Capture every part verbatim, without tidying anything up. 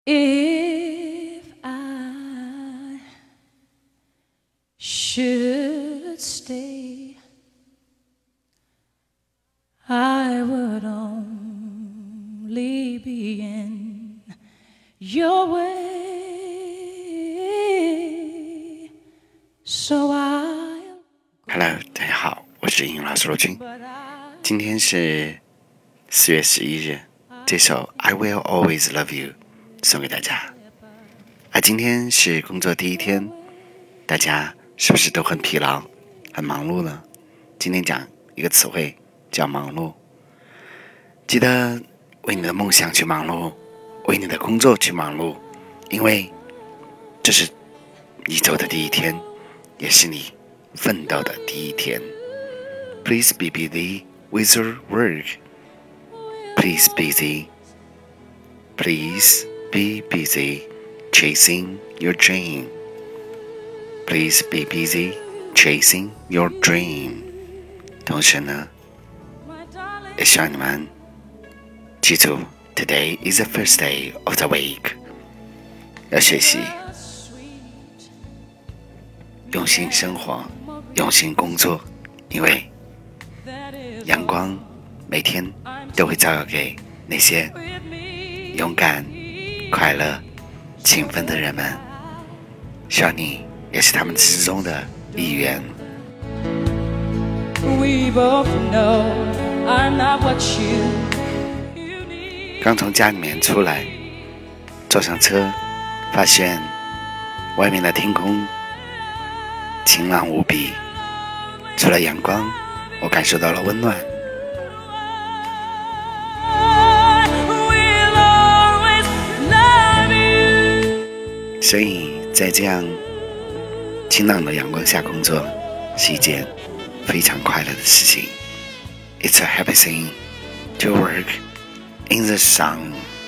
If I should stay, I would only be in your way. So I'll Hello， 大家好，我是英语老师罗军。今天是四月十一日，这首 I Will Always Love You 送给大家。而今天是工作第一天，大家是不是都很疲劳、很忙碌呢？今天讲一个词汇叫忙碌。记得为你的梦想去忙碌，为你的工作去忙碌，因为这是一周的第一天，也是你奋斗的第一天。Please be busy with your work. Please busy. Please be busy chasing your dream. Please be busy chasing your dream. 同时呢，也希望你们记住 Today is the first day of the week. 要学习用心生活，用心工作，因为阳光每天都会照耀给那些勇敢、快乐、勤奋的人们，希望你也是他们之中的一员。刚从家里面出来，坐上车，发现外面的天空晴朗无比，除了阳光，我感受到了温暖。所以在这样晴朗的阳光下工作是一件非常快乐的事情。 It's a happy thing to work in the sun。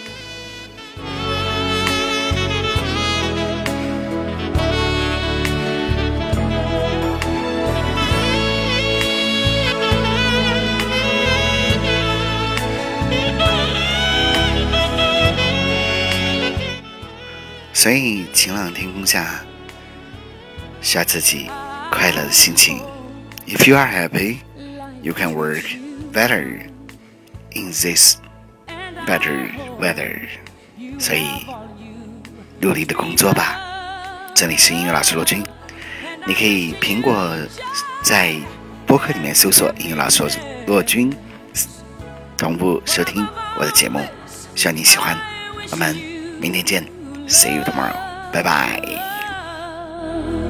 所以晴朗天空下需要自己快乐的心情。 If you are happy, you can work better in this better weather. 所以努力的工作吧。这里是英语老师罗军，你可以苹果在播客里面搜索英语老师罗军，同步收听我的节目，希望你喜欢。我们明天见，See you tomorrow. Bye bye.